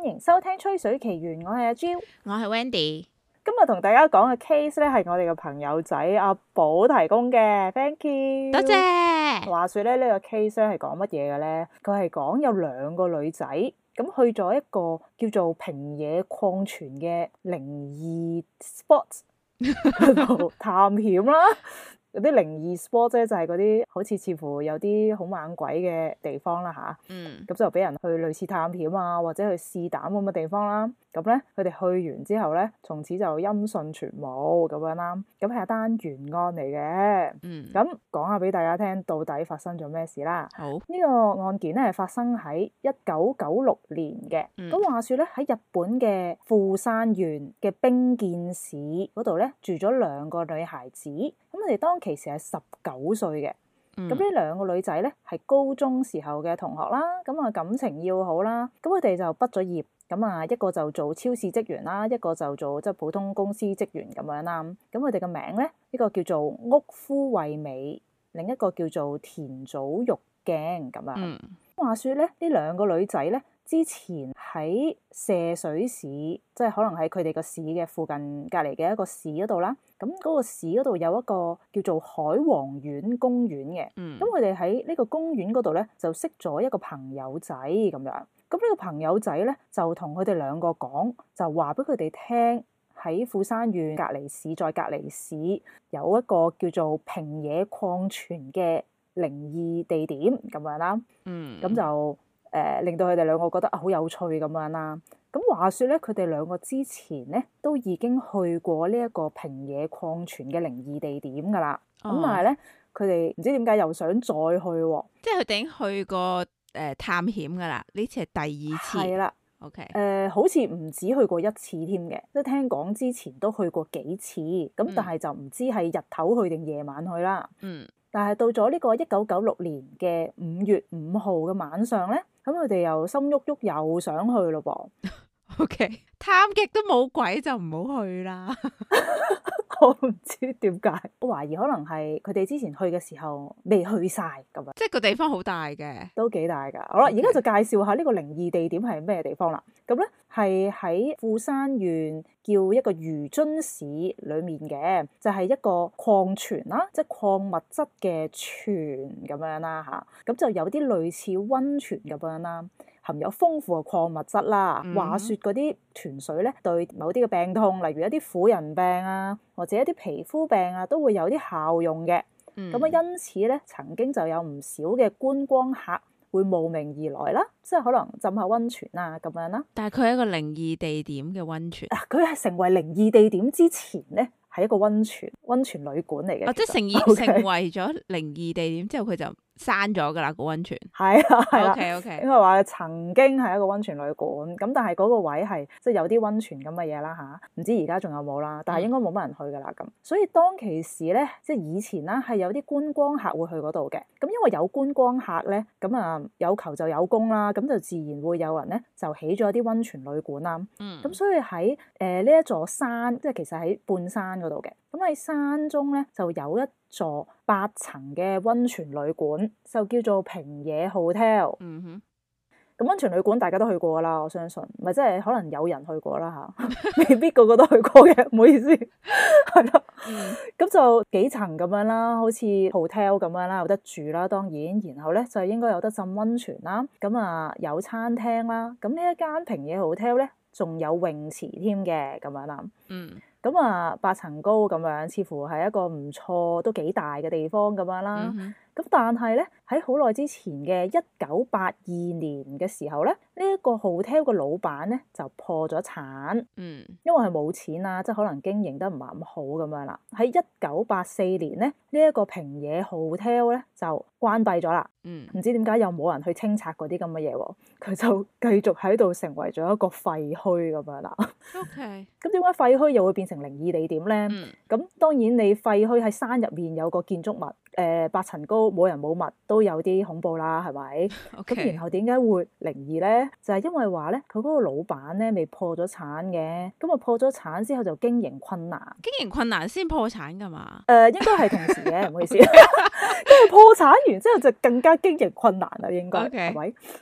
歡迎收聽《吹水奇緣》，我係阿 Jill， 我係 Wendy。 今日同大家講嘅 case 咧係我哋嘅朋友仔阿寶提供嘅 ，thank you， 多謝。 話說咧呢個 case 咧係講乜嘢嘅咧？佢係講有兩個女仔咁去咗一個叫做平野礦泉嘅靈異 spot 度探險啦。有啲靈異 spot 咧就係嗰啲好似乎有啲好猛鬼嘅地方啦吓，咁就俾人去類似探險啊或者去試膽咁嘅地方啦。咁咧佢哋去完之後咧，從此就音訊全無咁樣啦。咁係一單懸案嚟嘅。咁講下俾大家聽，到底發生咗咩事啦？好，呢個案件咧係發生喺1996年嘅。咁話說咧喺日本嘅富山縣嘅冰見市嗰度咧住咗兩個女孩子。咁佢哋當其時係19歲嘅。咁呢兩個女仔咧係高中時候嘅同學啦。咁啊感情要好啦。咁佢哋就畢咗業。咁啊，一個就做超市職員啦，一個就做即係普通公司職員咁樣啦。咁佢哋嘅名咧，呢個叫做屋敷惠美，另一個叫做田早玉鏡咁樣。話說咧，呢兩個女仔咧，之前喺澀水市，即係可能喺佢哋個市嘅附近隔離嘅一個市嗰度啦。咁嗰個市嗰度有一個叫做海王苑公園嘅。咁佢哋喺呢個公園嗰度咧，就識咗一個朋友仔咁樣。咁呢個朋友仔咧就同佢哋兩個講，就話俾佢哋聽喺富山縣隔離市再隔離市有一個叫做平野礦泉嘅靈異地點咁樣啦。咁就令到佢哋兩個覺得好有趣咁樣啦。咁話說咧，佢哋兩個之前咧都已經去過呢一個平野礦泉嘅靈異地點噶啦。咁但係咧，佢哋唔知點解又想再去喎。 即係佢哋已經去過探險噶啦，呢次係第二次。係啦 ，OK， 好似唔止去過一次添嘅，即係聽講之前都去過幾次，咁但係就唔知係日頭去定夜晚去啦。但係到咗呢個1996年嘅5月5號嘅晚上咧，咁佢哋又心喐喐又想去咯噃。 OK，探極都冇鬼就唔好去啦。 我唔知點解，我懷疑可能係佢哋之前去嘅時候未去晒咁樣。 即係個地方好大嘅，都幾大㗎。好啦，而家就介紹下呢個靈異地點係咩地方啦。咁咧係喺富山縣叫一個魚津市裡面嘅，就係一個礦泉啦，即係礦物質嘅泉咁樣啦嚇。咁就有啲類似溫泉咁樣啦。含有豐富嘅礦物質啦。話說嗰啲泉水咧，對某啲嘅病痛，例如一啲婦人病啊，或者一啲皮膚病啊，都會有啲效用嘅。咁啊，因此咧，曾經就有唔少嘅觀光客會慕名而來啦，即係可能浸下溫泉啊咁樣啦。 但係佢係一個靈異地點嘅溫泉。 佢係成為靈異地點之前咧，係一個溫泉旅館嚟嘅。 即係成為咗靈異地點之後，佢就閂咗噶啦個溫泉。 係啦 ，OK， 應該話曾經係一個溫泉旅館，咁但係嗰個位係即係有啲溫泉咁嘅嘢啦吓，唔知而家仲有冇啦，但係應該冇乜人去噶啦咁。所以當其時咧，即係以前啦，係有啲觀光客會去嗰度嘅。咁因為有觀光客咧，咁啊有求就有供啦，咁就自然會有人咧就起咗一啲溫泉旅館啦。咁所以喺呢一座山，即係其實喺半山嗰度嘅。咁喺山中咧就有一座8層嘅溫泉旅館，就叫做平野 Hotel。咁溫泉旅館大家都去過啦，我相信，咪即係可能有人去過啦嚇，未必個個都去過嘅，唔好意思，係啦。咁就幾層咁樣啦，好似 hotel 咁樣啦，有得住啦，當然，然後咧就應該有得浸溫泉啦，咁啊有餐廳啦，咁呢一間平野 Hotel 咧仲有泳池添嘅咁樣啦。咁啊8層高咁樣，似乎係一個唔錯都幾大嘅地方咁樣啦。咁但係咧喺好耐之前嘅1982年嘅時候咧，呢一個 hotel 嘅老闆咧就破咗產。因為係冇錢啊，即係可能經營得唔係咁好咁樣啦。喺1984年咧，呢一個平野 hotel 咧就關閉咗啦。唔知點解又冇人去清拆嗰啲咁嘅嘢喎，佢就繼續喺度成為咗一個廢墟咁樣啦。 OK， 咁點解廢墟又會變成靈異地點咧？咁當然你廢墟喺山入面有個建築物，8層高冇人冇物都有啲恐怖啦，係咪？咁然後點解會靈異咧？就係因為話咧，佢嗰個老闆咧未破咗產嘅，咁啊破咗產之後就經營困難， 經營困難先破產噶嘛？ 應該係同時嘅，唔好意思，跟住破產完之後就更加經營困難啦，應該係咪？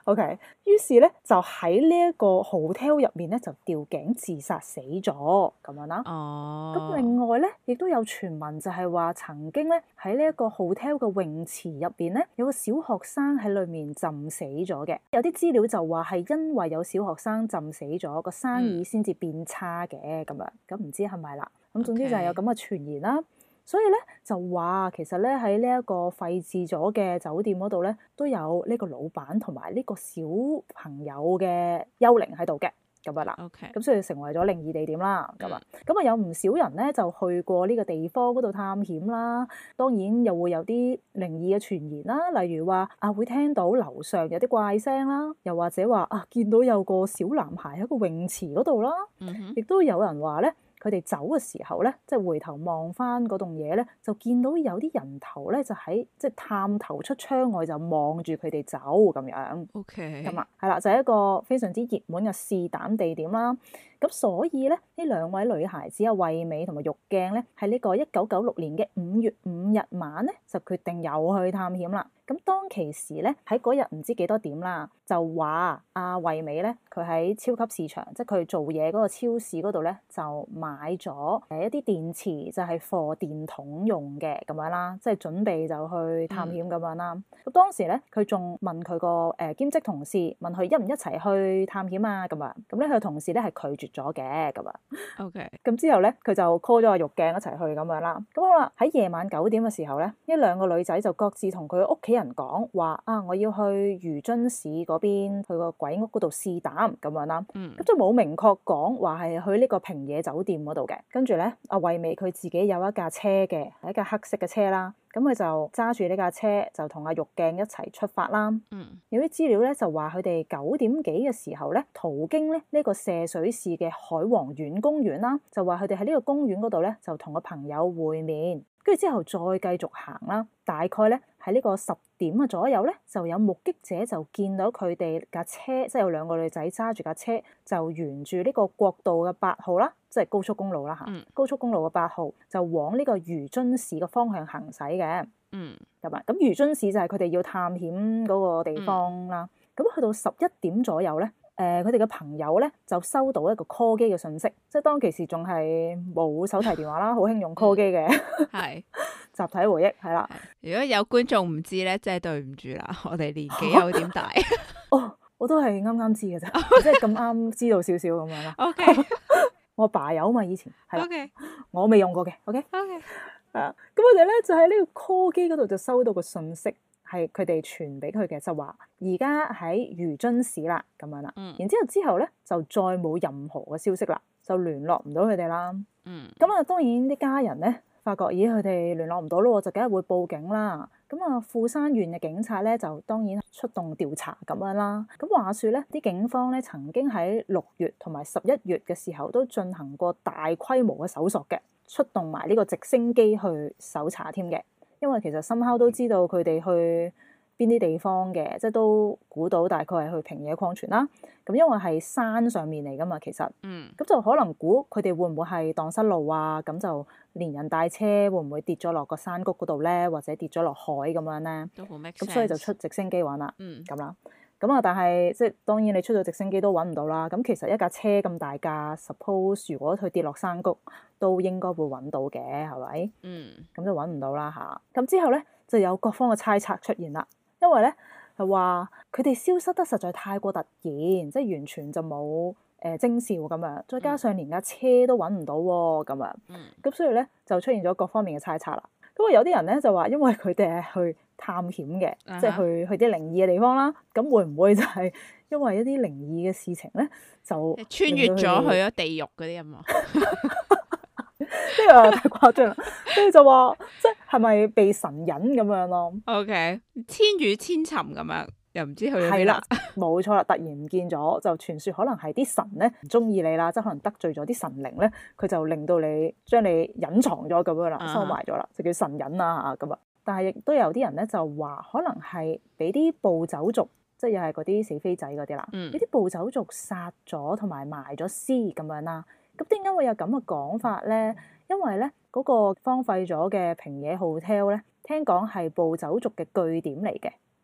OK， 於是咧就喺呢一個 hotel 入面咧就吊頸自殺死咗咁樣啦。咁另外咧亦都有傳聞就係話曾經咧喺呢一個 hotel 嘅泳池入邊咧有個小學生喺裏面浸死咗嘅。有啲資料就話係因為有小學生浸死咗，個生意先至變差嘅咁樣。咁唔知係咪啦？咁總之就係有咁嘅傳言啦。所以咧就話其實咧喺呢一個廢置咗嘅酒店嗰度咧都有呢個老闆同埋呢個小朋友嘅幽靈喺度嘅咁樣啦。 OK， 咁所以成為咗靈異地點啦。咁啊有唔少人咧就去過呢個地方嗰度探險啦。當然又會有啲靈異嘅傳言啦，例如話會聽到樓上有啲怪聲啦，又或者話見到有個小男孩喺個泳池嗰度啦。亦都有人話咧。佢哋走嘅時候咧，即係回頭望翻嗰棟嘢咧，就見到有啲人頭咧，就喺即係探頭出窗外就望住佢哋走咁樣。 OK， 咁係啦，就係一個非常之熱門嘅試膽地點啦。咁所以咧，呢兩位女孩子惠美同埋玉鏡咧，喺呢個1996年嘅5月5日晚咧，就決定又去探險啦。咁當其時咧，喺嗰日唔知幾多點啦，就話惠美咧，佢喺超級市場，即係佢做嘢嗰個超市嗰度咧，就買咗一啲電池，就係貨電筒用嘅咁樣啦，即係準備就去探險咁樣啦。咁當時咧，佢仲問佢個兼職同事，問佢一唔一齊去探險啊？咁啊，咁咧佢同事咧係拒絕咗嘅咁啊。 OK， 咁之後咧，佢就 call 咗阿玉鏡一齊去咁樣啦。咁好啦，喺夜晚9點嘅時候咧，呢兩個女仔就各自同佢屋企人講話我要去漁津市嗰邊去個鬼屋嗰度試膽咁樣啦。咁就冇明確講話係去呢個平野酒店嗰度嘅。跟住咧，惠美佢自己有一架車嘅，係一架黑色嘅車啦。咁佢就揸住呢架車就同阿玉鏡一齊出發啦。有啲資料咧就話佢哋9點幾嘅時候咧，途經咧呢個泗水市嘅海王苑公園啦，就話佢哋喺呢個公園嗰度咧就同個朋友會面，跟住之後再繼續行啦。大概咧喺呢個10點嘅左右咧，就有目擊者就見到佢哋架車，即係有兩個女仔揸住架車，就沿住呢個國道嘅8號啦，即係高速公路啦嚇。高速公路嘅8號就往呢個漁津市嘅方向行駛嘅。咁漁津市就係佢哋要探險嗰個地方啦。咁去到11點左右咧，佢哋嘅朋友咧就收到一個 call 機嘅訊息，即係當其時仲係冇手提電話啦，好興用 call 機嘅。係集體回憶係啦。 如果有觀眾唔知咧，真係對唔住啦，我哋年紀有點大。 我都係啱啱知嘅啫，即係咁啱知道少少咁樣啦。OK， 我爸有嘛以前係啦。OK， 我未用過嘅。OK， 咁我哋咧就喺呢個 call 機嗰度就收到個訊息，係佢哋傳俾佢嘅，就話而家喺漁津市啦咁樣啦。然之後咧就再冇任何嘅消息啦，就聯絡唔到佢哋啦。咁當然啲家人咧發覺咦佢哋聯絡唔到咯，就梗係會報警啦。咁富山縣嘅警察咧就當然出動調查咁樣啦。咁話說咧，啲警方咧曾經喺6月同埋11月嘅時候都進行過大規模嘅搜索嘅，出動埋呢個直升機去搜查添嘅。因為其實深烤都知道佢哋去邊啲地方嘅，即係都估到大概係去平野礦泉啦。咁因為係山上面嚟噶嘛，其實，咁就可能估佢哋會唔會係蕩失路啊？咁就連人帶車會唔會跌咗落個山谷嗰度咧，或者跌咗落海咁樣咧？都好 make sense。咁所以就出直升機揾啦，咁啦。咁但係即係當然你出咗直升機都揾唔到啦。咁其實一架車咁大架 ，suppose 如果佢跌落山谷，都應該會揾到嘅，係咪？咁就揾唔到啦嚇。咁之後咧就有各方嘅猜測出現啦，因為咧係話佢哋消失得實在太過突然，即係完全就冇徵兆咁樣，再加上連架車都揾唔到喎咁樣。咁所以咧就出現咗各方面嘅猜測啦。咁有啲人咧就話，因為佢哋係去探險嘅，即係去啲靈異嘅地方啦。咁會唔會就係因為一啲靈異嘅事情咧，就穿越咗去咗地獄嗰啲啊嘛？ 呢個太誇張啦！跟住就話，即係咪被神隱咁樣咯 ？OK， 千與千尋咁樣，又唔知去咗邊啦。 冇錯啦，突然唔見咗，就傳說可能係啲神咧唔中意你啦，即係可能得罪咗啲神靈咧，佢就令到你將你隱藏咗咁樣啦，收埋咗啦，就叫神隱啦咁啊。但係亦都有啲人咧就話，可能係俾啲暴走族，即係又係嗰啲死飛仔嗰啲啦，俾啲暴走族殺咗同埋埋咗屍咁樣啦。咁點解會有咁嘅講法咧？因為咧嗰個荒廢咗嘅平野 hotel 咧，聽講係暴走族嘅據點嚟嘅。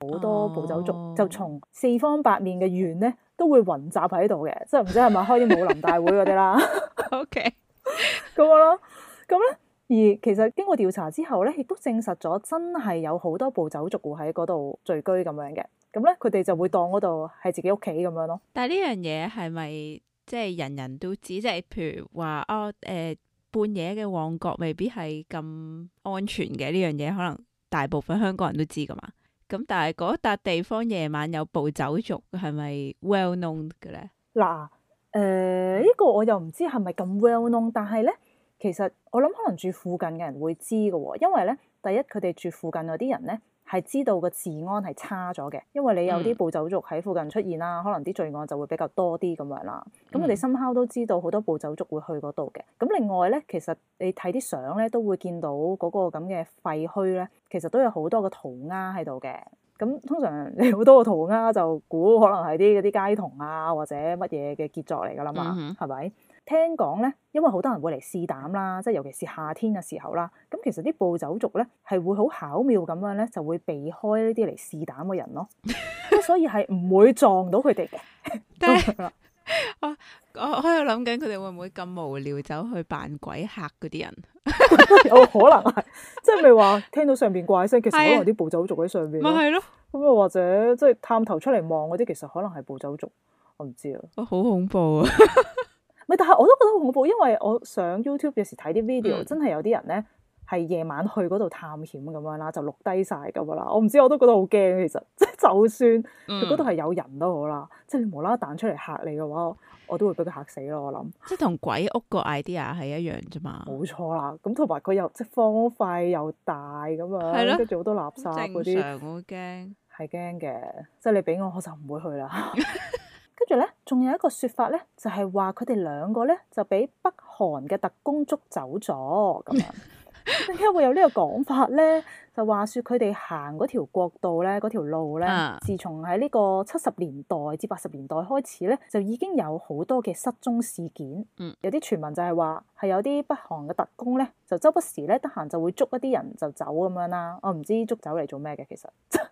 好多暴走族就從四方八面嘅縣咧都會雲集喺度嘅，即係唔知係咪開啲武林大會嗰啲啦。 OK， 咁樣咯，咁咧。而其實經過調查之後咧，亦都證實咗真係有好多暴走族會喺嗰度聚居咁樣嘅。咁咧，佢哋就會當嗰度係自己屋企咁樣咯。 但係呢樣嘢係咪即係人人都知？即係譬如話半夜嘅旺角未必係咁安全嘅呢樣嘢，可能大部分香港人都知噶嘛。咁但係嗰笪地方夜晚有暴走族係咪 well known 嘅咧？ 嗱，呢個我又唔知係咪咁 well known，但係咧。其實我諗可能住附近嘅人會知嘅喎，因為咧第一佢哋住附近嗰啲人咧係知道個治安係差咗嘅，因為你有啲暴走族喺附近出現啦，可能啲罪案就會比較多啲咁樣啦。咁佢哋深刻都知道好多暴走族會去嗰度嘅。咁另外咧，其實你睇啲相咧都會見到嗰個咁嘅廢墟咧，其實都有好多個塗鴉喺度嘅。咁通常你好多個塗鴉就估可能係啲嗰啲街童啊或者乜嘢嘅傑作嚟㗎啦嘛，係咪？聽講咧，因為好多人會嚟試膽啦，即係尤其是夏天嘅時候啦。咁其實啲暴走族咧係會好巧妙咁樣咧，就會避開呢啲嚟試膽嘅人咯。咁所以係唔會撞到佢哋嘅。 但係我喺度諗緊，佢哋會唔會咁無聊走去扮鬼嚇嗰啲人？ 有可能係，即係咪話聽到上邊怪聲，其實可能啲暴走族喺上邊。 咪係咯。 咁又或者即係探頭出嚟望嗰啲，其實可能係暴走族。我唔知啊。 好恐怖啊！ 咪但係我都覺得好恐怖，因為我上 YouTube 有時睇啲 video，真係有啲人咧係夜晚去嗰度探險咁樣啦，就錄低晒咁樣啦。我唔知，我都覺得好驚。其實即係就算佢嗰度係有人都好啦，即係你無啦啦彈出嚟嚇你嘅話，我都會俾佢嚇死咯。我諗即係同鬼屋個 idea 係一樣啫嘛。 冇錯啦，咁同埋佢又即係荒廢又大咁樣，跟住好多垃圾嗰啲， 正常好驚， 係驚嘅。即係你俾我就唔會去啦。跟住咧，仲有一個説法咧，就係話佢哋兩個咧就俾北韓嘅特工捉走咗咁樣。點解會有呢個講法咧？就話説佢哋行嗰條國道咧，嗰條路咧，自從喺呢個70年代至80年代開始咧，就已經有好多嘅失蹤事件。有啲傳聞就係話係有啲北韓嘅特工咧，就周不時咧得閒就會捉一啲人就走咁樣啦。我唔知捉走嚟做咩嘅，其實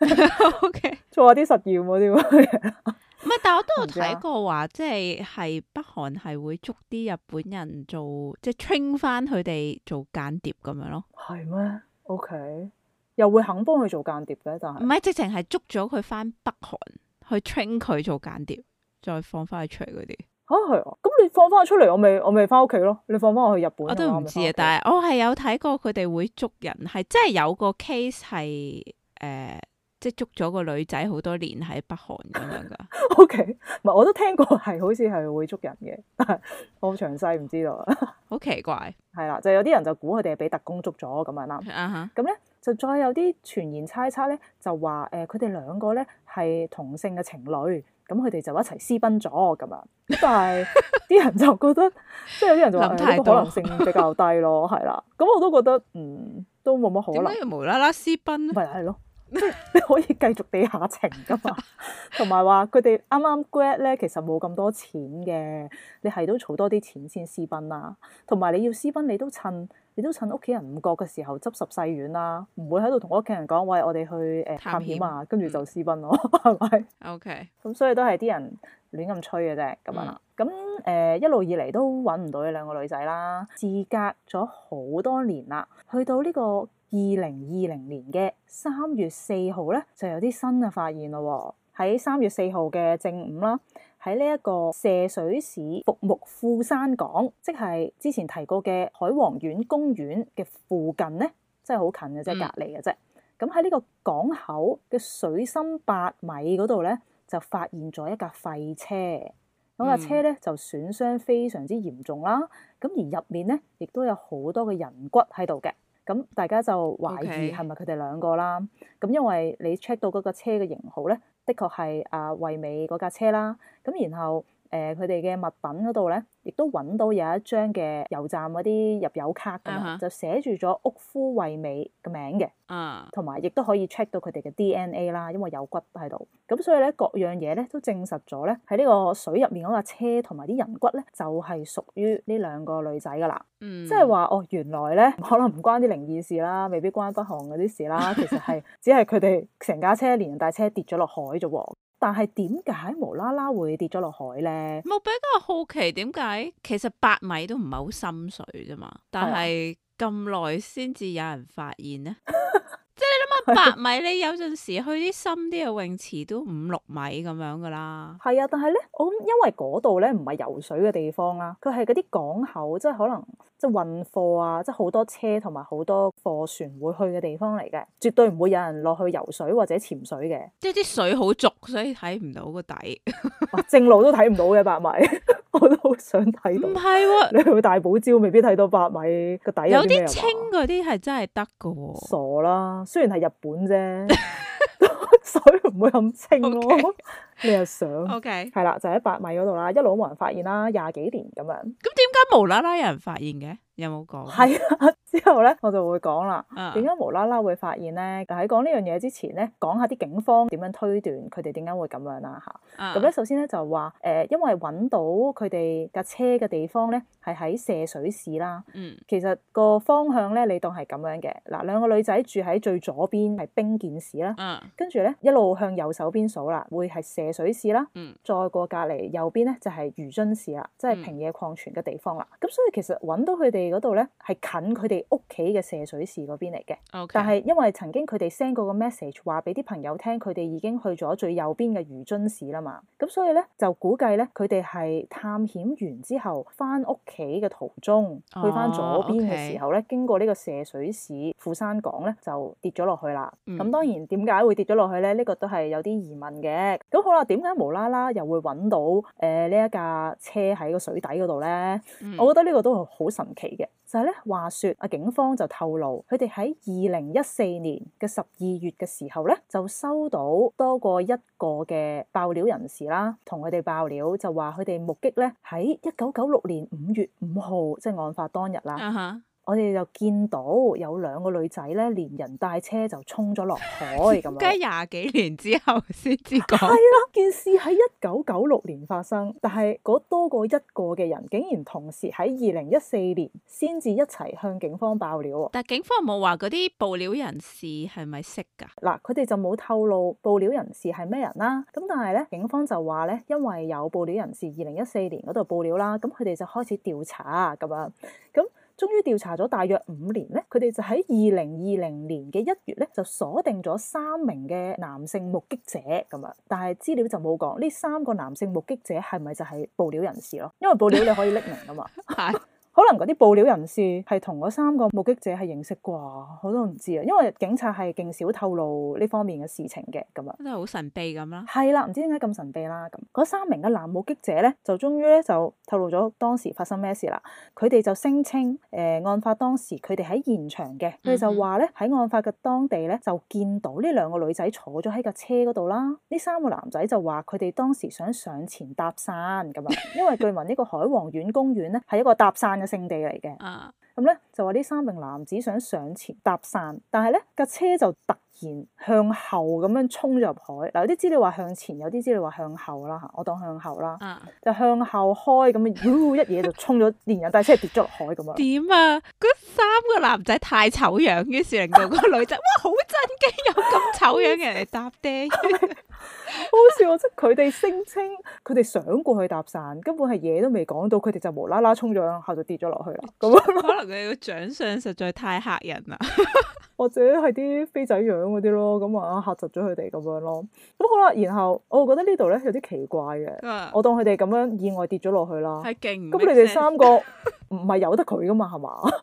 OK 做下啲實驗嗰啲嘢。 唔係，但係我都有睇過話，即係北韓係會捉啲日本人做，即係 train 翻佢哋做間諜咁樣咯。 係咩 ？OK，又會肯幫佢做間諜嘅，但係唔係直情係捉咗佢翻北韓去 train 佢做間諜，再放翻佢出嚟嗰啲。 嚇係啊！咁你放翻佢出嚟，我咪翻屋企咯。你放翻我去日本， 我都唔知啊。但係我係有睇過佢哋會捉人，係真係有個 case 係即係捉咗個女仔好多年喺北韓咁樣噶。 OK，唔係我都聽過係好似係會捉人嘅，但係我好詳細唔知道。 好奇怪。 係啦，就有啲人就估佢哋係俾特工捉咗咁樣啦。咁咧就再有啲傳言猜測咧，就話佢哋兩個咧係同性嘅情侶，咁佢哋就一齊私奔咗咁樣。但係啲人就覺得，即係有啲人就話呢個可能性比較低咯，係啦。咁我都覺得都冇乜可能。 點解要無啦啦私奔咧？ 咪係咯。即係你可以繼續地下情噶嘛，同埋話佢哋啱啱 grad 咧，其實冇咁多錢嘅，你係都儲多啲錢先私奔啦。同埋你要私奔，你都趁屋企人唔覺嘅時候執拾細軟啦，唔會喺度同屋企人講，喂，我哋去探險啊，跟住就私奔咯，係咪 ？OK，咁所以都係啲人亂咁吹嘅啫，咁樣啦。咁一路以嚟都揾唔到呢兩個女仔啦，事隔咗好多年啦，去到呢個2020年嘅3月4號咧，就有啲新嘅發現咯。喺3月4號嘅正午啦，喺呢一個泗水市服木富山港，即係之前提過嘅海王苑公園嘅附近咧，真係好近嘅啫，隔離嘅啫。咁喺呢個港口嘅水深8米嗰度咧，就發現咗一架廢車。嗰架車咧就損傷非常之嚴重啦。咁而入面咧，亦都有好多嘅人骨喺度嘅。咁大家就懷疑係咪佢哋兩個啦？咁因為你 check 到嗰架車嘅型號咧，的確係惠美嗰架車啦。咁然後佢哋嘅物品嗰度咧，亦都揾到有一張嘅油站嗰啲入油卡咁樣，就寫住咗屋夫惠美嘅名嘅，同埋亦都可以 check 到佢哋嘅 DNA 啦，因為有骨喺度。咁所以咧，各樣嘢咧都證實咗咧，喺呢個水入面嗰架車同埋啲人骨咧，就係屬於呢兩個女仔噶啦。即係話原來咧可能唔關啲靈異事啦，未必關北韓嗰啲事啦，其實係只係佢哋成架車連人帶車跌咗落海啫喎。但係點解無啦啦會跌咗落海咧？ 我比較好奇點解，其實8米都唔係好深水啫嘛，但係咁耐先至有人發現咧。即係你諗下8米，你有陣時去啲深啲嘅泳池都5-6米咁樣噶啦。 係啊，但係咧，我諗因為嗰度咧唔係游水嘅地方啦，佢係嗰啲港口，即係可能即係運貨啊，即係好多車同埋好多貨船會去嘅地方嚟嘅，絕對唔會有人落去游水或者潛水嘅。即係啲水好濁，所以睇唔到個底。 正路都睇唔到嘅8米，我都好想睇到。唔係喎，你去大堡礁未必睇到8米個底有啲咩。有啲清嗰啲係真係得噶喎。 傻啦，雖然係日本啫。水唔會咁清咯。Okay. 你又想係啦，就喺8米嗰度啦，一路都冇人發現啦，20幾年咁樣。咁點解無啦啦有人發現嘅？有冇講？ 係啊，之後咧我就會講啦，點解無啦啦會發現咧？喺講呢樣嘢之前咧，講下啲警方點樣推斷佢哋點解會咁樣啦嚇。咁咧首先咧就話因為揾到佢哋架車嘅地方咧係喺瀉水市啦。其實個方向咧你當係咁樣嘅嗱，兩個女仔住喺最左邊係冰見市啦。跟住咧一路向右手邊數啦，會係瀉水市啦。再過隔離右邊咧就係漁津市啦，即係平野礦泉嘅地方啦。咁所以其實揾到佢哋嗰度咧係近佢哋屋企嘅瀉水市嗰邊嚟嘅。但係因為曾經佢哋 send 過個 message 話俾啲朋友聽，佢哋已經去咗最右邊嘅漁津市啦嘛。咁所以咧就估計咧佢哋係探險完之後翻屋企嘅途中，去翻左邊嘅時候咧，經過呢個瀉水市富山港咧就跌咗落去啦。咁當然點解會跌咗落去咧？呢個都係有啲疑問嘅。咁好啦，點解無啦啦又會揾到呢一架車喺個水底嗰度咧？我覺得呢個都係好神奇嘅。就係咧，話說警方就透露，佢哋喺2014年嘅12月嘅時候咧，就收到多過一個嘅爆料人士啦，同佢哋爆料就話佢哋目擊咧喺1996年5月5號，即係案發當日啦。我哋就見到有2個女仔咧，連人帶車就衝咗落海咁樣。 梗係20幾年之後先至講。 係啦，件事喺1996年發生，但係嗰多過一個嘅人，竟然同時喺2014年先至一齊向警方爆料。 但係警方有冇話嗰啲爆料人士係咪識㗎？ 嗱，佢哋就冇透露爆料人士係咩人啦。咁但係咧，警方就話咧，因為有爆料人士2014年嗰度爆料啦，咁佢哋就開始調查咁樣。咁終於調查咗大約5年咧，佢哋就喺2020年嘅1月咧，就鎖定咗3名嘅男性目擊者咁樣。但係資料就冇講呢3個男性目擊者係咪就係爆料人士咯？因為爆料你可以匿名㗎嘛。係。可能嗰啲爆料人士係同嗰3個目擊者係認識啩，我都唔知啊。因為警察係勁少透露呢方面嘅事情嘅咁啊， 真係好神秘咁啦。 係啦，唔知點解咁神秘啦。咁嗰3名嘅男目擊者咧，就終於咧就透露咗當時發生咩事啦。佢哋就聲稱案發當時佢哋喺現場嘅，佢哋就話咧喺案發嘅當地咧就見到呢2個女仔坐咗喺架車嗰度啦。呢3個男仔就話佢哋當時想上前搭訕咁啊，因為據聞呢個海皇苑公園咧係一個搭訕嘅聖地嚟嘅。咁咧就話呢3名男子想上前搭訕，但係咧架車就突然向後咁樣衝咗入海。嗱，有啲資料話向前，有啲資料話向後啦嚇，我當向後啦。就向後開咁樣，一嘢就衝咗，連人帶車跌咗落海咁樣。點啊？ 嗰3個男仔太醜樣，於是令到個女仔哇好震驚，有咁醜樣嘅人嚟搭爹。 好笑啊！即係佢哋聲稱佢哋想過去搭訕，根本係嘢都未講到，佢哋就無啦啦衝咗向後就跌咗落去啦。咁可能佢個長相實在太嚇人啦， 或者係啲飛仔樣嗰啲咯，咁啊嚇窒咗佢哋咁樣咯。咁好啦，然後我覺得呢度咧有啲奇怪嘅，我當佢哋咁樣意外跌咗落去啦。係勁。咁你哋3個唔係由得佢噶嘛，係嘛？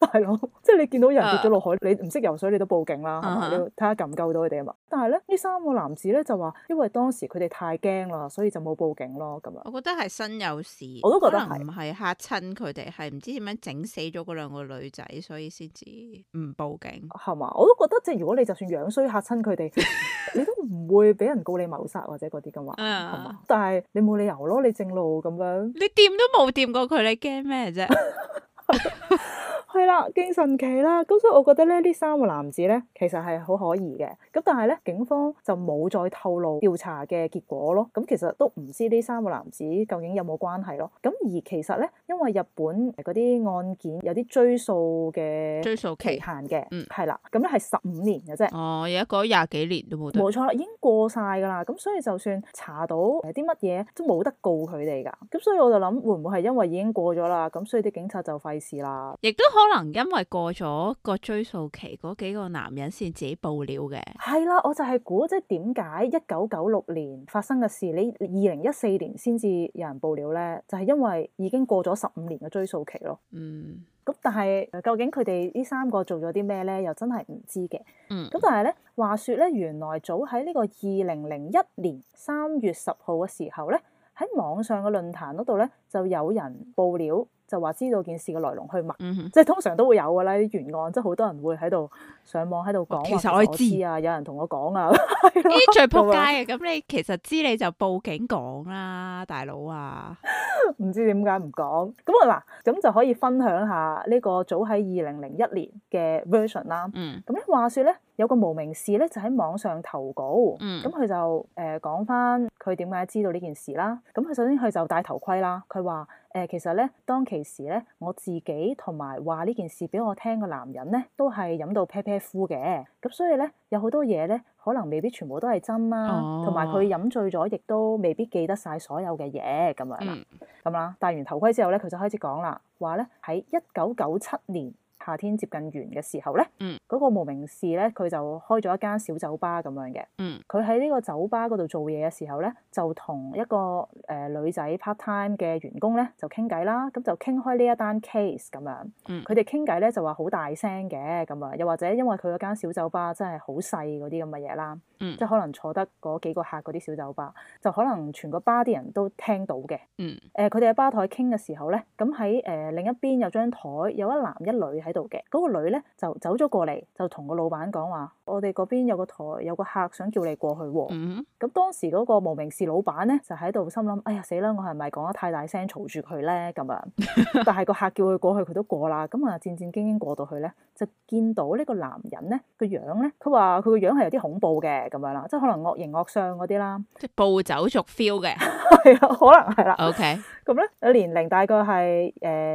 大佬，即係你見到人跌咗落海，你唔識游水你都報警啦，係嘛？你要睇下救唔救到佢哋啊嘛。但係咧呢3個男子咧就話，因為當時佢哋太驚啦，所以就冇報警咯咁樣。 我覺得係身有事， 我都覺得係唔係嚇親佢哋，係唔知點樣整死咗嗰2個女仔，所以先至唔報警係嘛？我都覺得即係如果你就算樣衰嚇親佢哋，你都唔會俾人告你謀殺或者嗰啲噶嘛，係嘛？但係你冇理由咯，你正路咁樣， 你掂都冇掂過佢，你驚咩啫？ 係啦，勁神奇啦！咁所以我覺得咧，呢3個男子咧，其實係好可疑嘅。咁但係咧，警方就冇再透露調查嘅結果咯。咁其實都唔知呢3個男子究竟有冇關係咯。咁而其實咧，因為日本嗰啲案件有啲追訴期限嘅，係啦，咁咧係15年嘅啫。 哦，而家過咗20幾年都冇得。 冇錯啦，已經過晒㗎啦。咁所以就算查到啲乜嘢都冇得告佢哋㗎。咁所以我就諗，會唔會係因為已經過咗啦？咁所以啲警察就費事啦。 亦都可能因為過咗個追訴期，嗰幾個男人先自己報料嘅。 係啦，我就係估即係點解1996年發生嘅事，你2014年先至有人報料咧？就係因為已經過咗15年嘅追訴期咯。咁但係究竟佢哋呢3個做咗啲咩咧？又真係唔知嘅。咁但係咧，話說咧，原來早喺呢個2001年3月10號嘅時候咧，喺網上嘅論壇嗰度咧，就有人報料。就話知道件事嘅來龍去脈，即係通常都會有㗎啦啲懸案，即係好多人會喺度上網喺度講。其實我知啊，有人同我講啊，呢啲最撲街嘅。咁你其實知你就報警講啦，大佬啊！ 唔知點解唔講咁啊嗱，咁就可以分享下呢個早喺2001年嘅 version 啦。咁咧話說咧，有個無名氏咧就喺網上投稿，咁佢就講翻佢點解知道呢件事啦。咁佢首先佢就戴頭盔啦，佢話其實咧當其時咧我自己同埋話呢件事俾我聽嘅男人咧都係飲到啤啤呼嘅，咁所以咧有好多嘢咧可能未必全部都係真啦，同埋佢飲醉咗亦都未必記得晒所有嘅嘢咁樣啦。咁啦，戴完頭盔之後咧，佢就開始講啦，話咧喺1997年夏天接近完嘅時候咧，嗰個無名氏咧，佢就開咗一間小酒吧咁樣嘅。佢喺呢個酒吧嗰度做嘢嘅時候咧，就同一個女仔 part time 嘅員工咧就傾偈啦，咁就傾開呢一單 case 咁樣。佢哋傾偈咧就話好大聲嘅咁啊，又或者因為佢嗰間小酒吧真係好細嗰啲咁嘅嘢啦，即係可能坐得嗰幾個客嗰啲小酒吧，就可能全個吧啲人都聽到嘅。佢哋喺吧台傾嘅時候咧，咁喺另一邊有張台有一男一女喺度嘅，嗰個女咧就走咗過嚟，就同個老闆講話：我哋嗰邊有個台有個客想叫你過去喎。咁當時嗰個無名氏老闆咧就喺度心諗：哎呀死啦！我係咪講得太大聲嘈住佢咧？咁樣，但係個客叫佢過去，佢都過啦。咁啊戰戰兢兢過到去咧，就見到呢個男人咧個樣咧，佢話佢個樣係有啲恐怖嘅咁樣啦，即係可能惡形惡相嗰啲啦， 即係暴走族 feel 嘅， 係啊，可能係啦。 OK。 咁咧，年齡大概係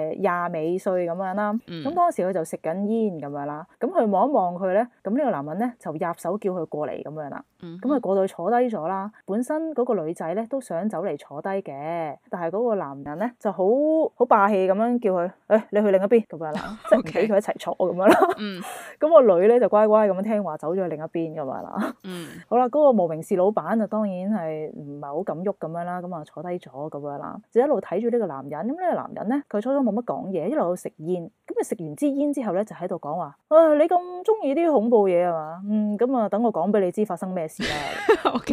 20尾歲咁樣啦。咁當時佢就食緊煙咁樣啦。咁佢望一望佢咧，咁呢個男人咧就入手叫佢過嚟咁樣啦。咁佢過到去坐低咗啦。本身嗰個女仔咧都想走嚟坐低嘅，但係嗰個男人咧就好霸氣咁樣叫佢，你去另一邊咁樣啦，即係唔俾佢一齊坐咁樣啦。咁個女咧就乖乖咁樣聽話走咗去另一邊咁樣啦。好啦，嗰個無名氏老闆就當然係唔係好敢喐咁樣啦，咁啊坐低咗咁樣啦，就一路睇住呢個男人。咁呢個男人咧，佢初初冇乜講嘢，一路食煙。咁佢食完支煙之後咧，就喺度講話：你咁中意啲恐怖嘢係嘛？咁啊，等我講俾你知發生咩事啦。OK。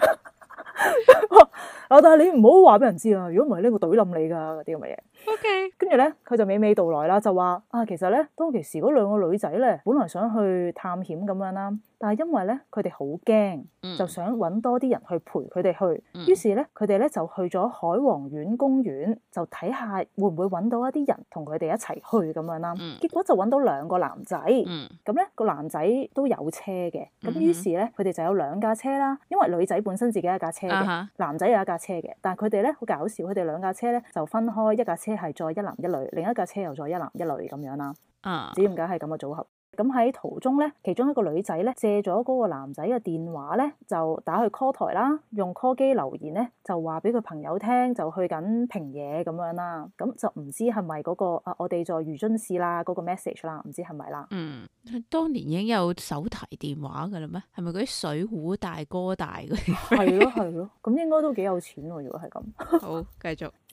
但係你唔好話俾人知啊！如果唔係呢，我懟冧你㗎嗰啲咁嘅嘢。OK。跟住咧，佢就娓娓道來啦，就話其實咧，當其時嗰2個女仔咧，本來想去探險咁樣啦，但係因為咧，佢哋好驚，就想揾多啲人去陪佢哋去。於是咧，佢哋咧就去咗海王苑公園，就睇下會唔會揾到一啲人同佢哋一齊去咁樣啦。結果就揾到2個男仔。咁咧個男仔都有車嘅。咁於是咧，佢哋就有2架車啦。因為女仔本身自己有一架車嘅，男仔有一架車嘅。但係佢哋咧好搞笑，佢哋2架車咧就分開，一架車係載一男一女，另一架車又載一男一女咁樣啦。唔知點解係咁嘅組合。咁喺途中咧，其中一個女仔咧借咗嗰個男仔嘅電話咧，就打去 call 台啦，用 call 機留言咧，就話俾佢朋友聽，就去緊平野咁樣啦。咁就唔知係咪嗰個我哋在魚津市啦嗰個 message 啦，唔知係咪啦。 當年已經有手提電話㗎啦咩？係咪嗰啲水壺大哥大嗰啲？ 係咯係咯，咁應該都幾有錢喎。如果係咁， 好繼續。 好啦。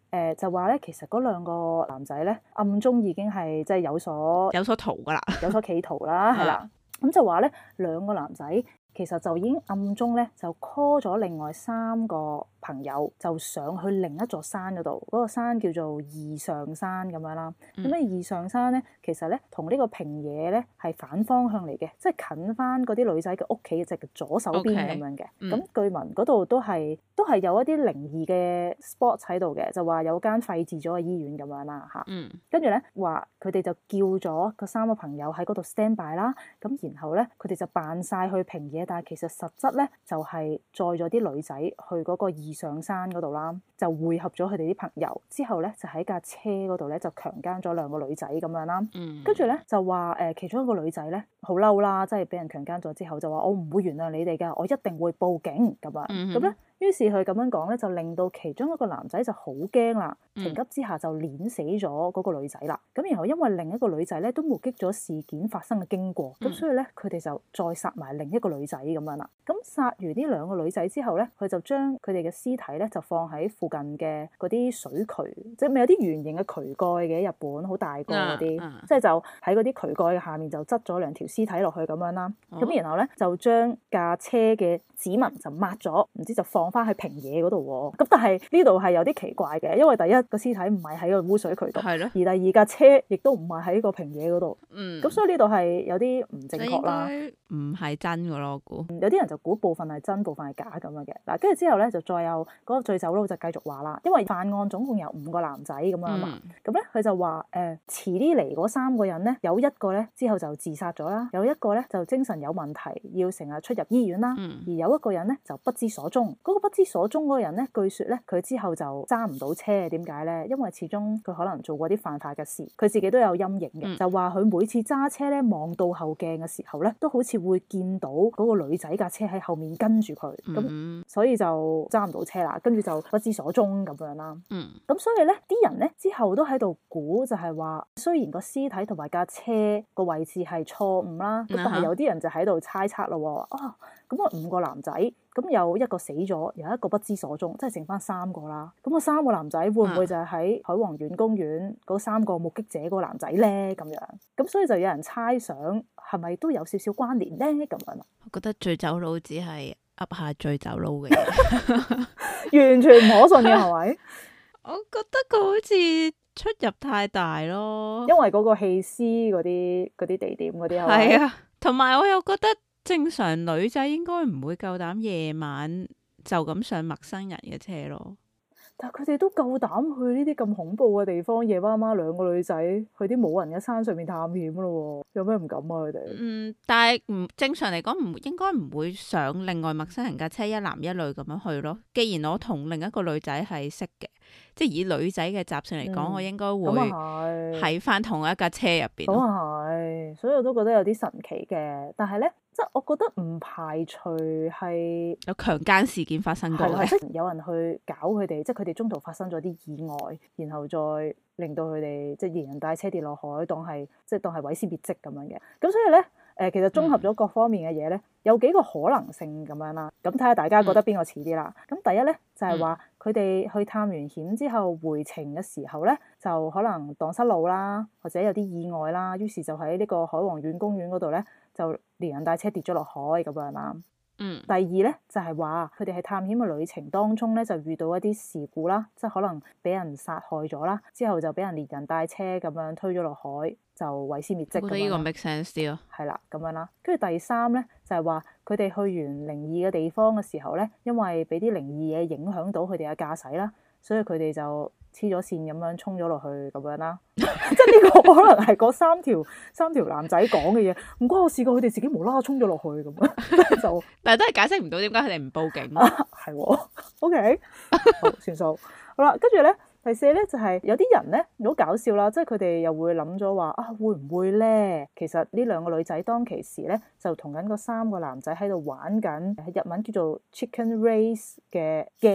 就話咧，其實嗰兩個男仔咧暗中已經係即係有所圖噶啦， 有所企圖啦，係啦。咁就話咧，兩個男仔其實就已經暗中咧就 call 咗另外3個朋友，就上去另一座山嗰度。嗰個山叫做二上山咁樣啦。咁二上山咧，其實咧同呢個平野咧係反方向嚟嘅，即係近翻嗰啲女仔嘅屋企嘅左手邊咁樣嘅。咁據聞嗰度都係有一啲靈異嘅 spot 喺度嘅，就話有間廢置咗嘅醫院咁樣啦嚇。跟住咧話佢哋就叫咗個3個朋友喺嗰度 stand by 啦。咁然後咧佢哋就扮晒去平野，但係其實實質咧就係載咗啲女仔去嗰個二上山嗰度啦，就匯合咗佢哋啲朋友之後咧，就喺架車嗰度咧就強姦咗2個女仔咁樣啦。跟住咧就話其中一個女仔咧好嬲啦，即係俾人強姦咗之後就話我唔會原諒你哋㗎，我一定會報警咁樣。咁咧於是佢咁樣講咧，就令到其中一個男仔就好驚啦，情急之下就碾死咗嗰個女仔啦。咁然後因為另一個女仔咧都目擊咗事件發生嘅經過，咁所以咧佢哋就再殺埋另一個女仔咁樣啦。咁殺完呢2個女仔之後咧，佢就將佢哋嘅屍體咧就放喺附近嘅嗰啲水渠，即係咪有啲圓形嘅渠蓋嘅日本好大個嗰啲，即係就喺嗰啲渠蓋嘅下面就執咗2條屍體落去咁樣啦。咁然後咧就將架車嘅指紋就抹咗，唔知就放翻去平野嗰度喎。咁但係呢度係有啲奇怪嘅，因為第一個屍體唔係喺個污水渠度，而第二架車亦都唔係喺個平野嗰度。咁所以呢度係有啲唔正確啦， 唔係真嘅咯，我估。 有啲人就估部分係真，部分係假咁樣嘅。嗱，跟住之後咧就再有嗰個醉酒佬就繼續話啦，因為犯案總共有5個男仔咁樣嘛。咁咧佢就話遲啲嚟嗰3個人咧，有一個咧之後就自殺咗啦，有一個咧就精神有問題，要成日出入醫院啦，而有一個人咧就不知所蹤。嗰個不知所蹤嗰個人咧，據說咧佢之後就揸唔到車，點解咧？因為始終佢可能做過啲犯法嘅事，佢自己都有陰影嘅。就話佢每次揸車咧望到後鏡嘅時候咧，都好似會見到嗰個女仔架車喺後面跟住佢，咁所以就揸唔到車啦，跟住就不知所蹤咁樣啦。咁所以咧啲人咧之後都喺度估，就係話雖然個屍體同埋架車個位置係錯誤啦，咁但係有啲人就喺度猜測咯。咁啊5個男仔，咁有一個死咗，有一個不知所蹤，即係剩翻3個啦。咁個3個男仔會唔會就係喺海王苑公園嗰3個目擊者嗰個男仔咧？咁樣，咁所以就有人猜想係咪都有少少關聯咧？咁樣， 我覺得醉酒佬只係噏下醉酒佬嘅嘢， 完全唔可信嘅係咪？ 我覺得佢好似出入太大咯， 因為嗰個棄屍嗰啲地點嗰啲係啊，同埋我又覺得。正常女仔應該唔會夠膽夜晚就咁上陌生人嘅車咯， 但係佢哋都夠膽去呢啲咁恐怖嘅地方，夜媽媽2個女仔去啲冇人嘅山上面探險咯，有咩唔敢啊佢哋？ 但係正常嚟講應該唔會上另外陌生人架車一男一女咁樣去咯。既然我同另一個女仔係識嘅，即係以女仔嘅習性嚟講，我應該會喺翻同一架車入邊。 咁啊係，所以我都覺得有啲神奇嘅。但係咧，即係我覺得唔排除係有強姦事件發生過嘅， 即係有人去搞佢哋，即係佢哋中途發生咗啲意外，然後再令到佢哋即係連人帶車跌落海，當係毀屍滅跡咁樣嘅。咁所以咧，其實綜合咗各方面嘅嘢咧，有幾個可能性咁樣啦。咁睇下大家覺得邊個似啲啦。咁第一咧就係話佢哋去探完險之後回程嘅時候咧，就可能蕩失路啦，或者有啲意外啦，於是就喺呢個海王苑公園嗰度咧，就連人帶車跌咗落海咁樣啦。第二咧就係話佢哋喺探險嘅旅程當中咧，就遇到一啲事故啦，即係可能俾人殺害咗啦，之後就俾人連人帶車咁樣推咗落海，就毀屍滅跡。 我覺得呢個 make sense 啲咯。 係啦，咁樣啦。跟住第三咧就係話佢哋去完靈異嘅地方嘅時候咧，因為俾啲靈異嘢影響到佢哋嘅駕駛啦，所以佢哋就黐咗線咁樣衝咗落去咁樣啦。即係呢個可能係嗰三條男仔講嘅嘢，唔關我事㗎，佢哋自己無啦啦衝咗落去咁樣就， 但係都係解釋唔到點解佢哋唔報警。 係喎，OK，好算數。好啦，跟住咧第四咧就係有啲人咧好搞笑啦，即係佢哋又會諗咗話會唔會咧？其實呢2個女仔當其時咧就同緊嗰3個男仔喺度玩緊日文叫做 Chicken Race 嘅 game。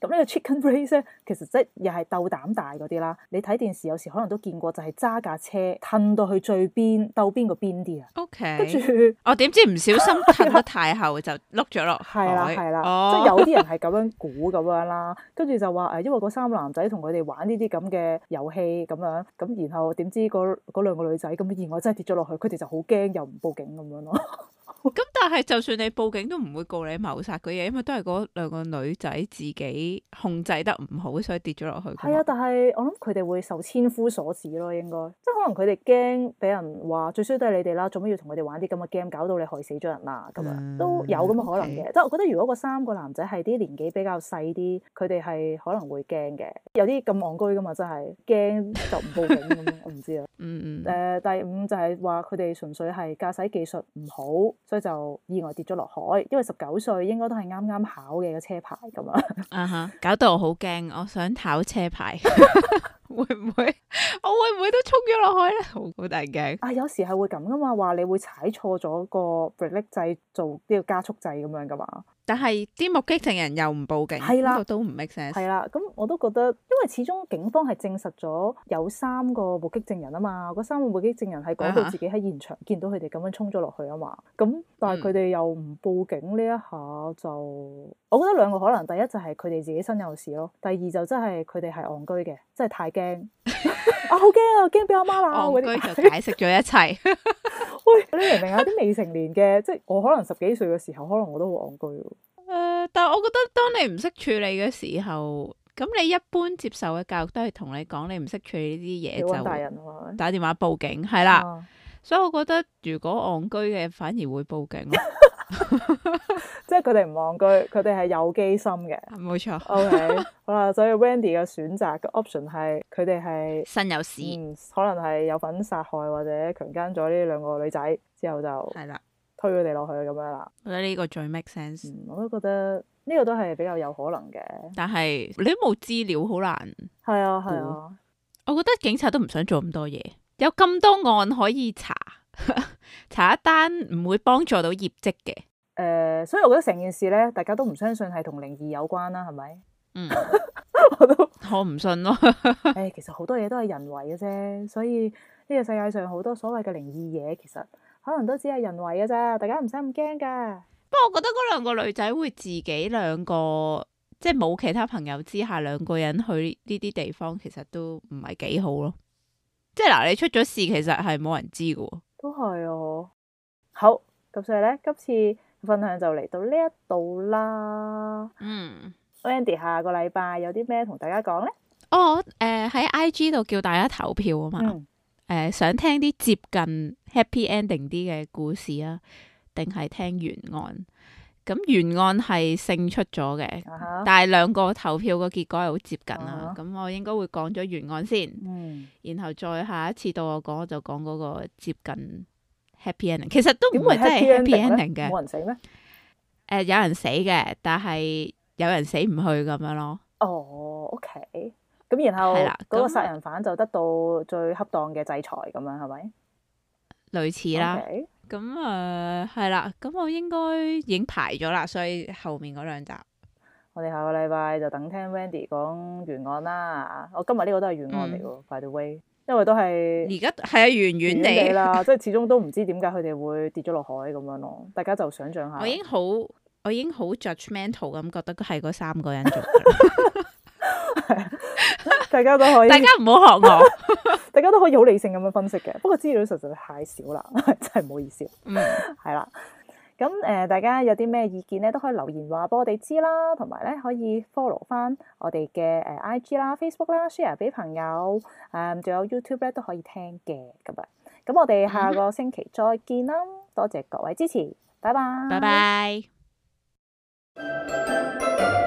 咁呢個 chicken race 咧，其實即係又係鬥膽大嗰啲啦。你睇電視有時可能都見過，就係揸架車褪到去最邊，鬥邊個邊啲啊。 OK， 跟住我點知唔小心褪得太後就碌咗落海。 係啦，即係有啲人係咁樣估咁樣啦。跟住就話因為嗰三個男仔同佢哋玩呢啲咁嘅遊戲咁樣，咁然後點知嗰兩個女仔咁意外真係跌咗落去，佢哋就好驚，又唔報警咁樣咯。 咁但係就算你報警都唔會告你謀殺嘅嘢，因為都係嗰兩個女仔自己控制得唔好，所以跌咗落去。 係啊，但係我諗佢哋會受千夫所指咯，應該即係可能佢哋驚俾人話最衰都係你哋啦，做乜要同佢哋玩啲咁嘅 game，搞到你害死咗人啊咁樣，都有咁嘅可能嘅。即係我覺得如果嗰三個男仔係啲年紀比較細啲，佢哋係可能會驚嘅。有啲咁戇居噶嘛，真係驚就唔報警咁樣，我唔知啊。第五就係話佢哋純粹係駕駛技術唔好。所以就意外跌咗落海，因為19歲應該都係啱啱考嘅個車牌咁啊。 搞到我好驚，我想考車牌，會唔會？我會唔會都衝咗落海咧？好大驚啊！有時係會咁噶嘛，話你會踩錯咗個 brake 掣做呢個加速掣咁樣噶嘛。 但係啲目擊證人又唔報警， 係啦， 都唔 make sense。 係啦，咁我都覺得，因為始終警方係證實咗有3個目擊證人啊嘛，嗰3個目擊證人係講到自己喺現場見到佢哋咁樣衝咗落去啊嘛，咁但係佢哋又唔報警呢一下就，我覺得兩個可能，第一就係佢哋自己身有事咯，第二就真係佢哋係戇居嘅，真係太驚啊，好驚啊，驚俾阿媽鬧嗰啲， 戇居就解釋咗一切。 喂，你明唔明啊？啲未成年嘅，即係我可能10幾歲嘅時候，可能我都好戇居。 但係我覺得當你唔識處理嘅時候，咁你一般接受嘅教育都係同你講，你唔識處理呢啲嘢就打電話報警，係啦。所以我覺得如果戇居嘅反而會報警咯。 即係佢哋唔戇居，佢哋係有機心嘅。 冇錯。 OK， 好啦，所以 Wendy 嘅選擇嘅 option 係佢哋係身有事， 可能係有份殺害或者強姦咗呢兩個女仔之後就係啦，推佢哋落去咁樣啦。 我覺得呢個最 make sense。 我都覺得呢個都係比較有可能嘅。但係你都冇資料，好難。 係啊係啊。 我覺得警察都唔想做咁多嘢，有咁多案可以查，查一單唔會幫助到業績嘅。 所以我覺得成件事咧，大家都唔相信係同靈異有關啦，係咪？ 我唔信咯。 其實好多嘢都係人為嘅啫，所以呢個世界上好多所謂嘅靈異嘢，其實可能都只係人為嘅啫，大家唔使咁驚噶。 不過我覺得嗰兩個女仔會自己兩個，即係冇其他朋友之下，兩個人去呢啲地方，其實都唔係幾好咯。即係嗱，你出咗事，其實係冇人知嘅。都係啊。 好，咁所以咧，今次分享就嚟到呢一度啦。Wendy 下個禮拜有啲咩同大家講咧？ 喺 IG 度叫大家投票啊嘛。想聽啲接近 happy ending 啲嘅故事啊，定係聽懸案？咁懸案係勝出咗嘅，但係兩個投票個結果係好接近啦。咁我應該會講咗懸案先，然後再下一次到我講，我就講嗰個接近 happy ending。其實都唔係真係 happy ending 嘅， 冇人死咩？ 有人死嘅，但係有人死唔去咁樣咯。 OK。咁然後嗰個殺人犯就得到最恰當嘅制裁咁樣，係咪？類似啦。咁係啦，咁我應該已經排咗啦，所以後面嗰2集，我哋下個禮拜就等聽 Wendy 講懸案啦。我今日呢個都係懸案嚟喎，by the way，因為都係而家係啊，遠遠地啦，即係始終都唔知點解佢哋會跌咗落海咁樣咯。大家就想象下。我已經好 judgmental 咁覺得係嗰3個人做嘅。大家都可以，大家唔好學我，大家都可以好理性咁樣分析嘅。不過資料實在太少啦，真係唔好意思。係啦。咁大家有啲咩意見咧，都可以留言話俾我哋知啦。同埋咧，可以 follow 翻我哋嘅IG 啦、Facebook 啦 ，share 俾朋友。仲有 YouTube 咧都可以聽嘅咁樣。咁我哋下個星期再見啦。多謝各位支持，拜拜。拜拜。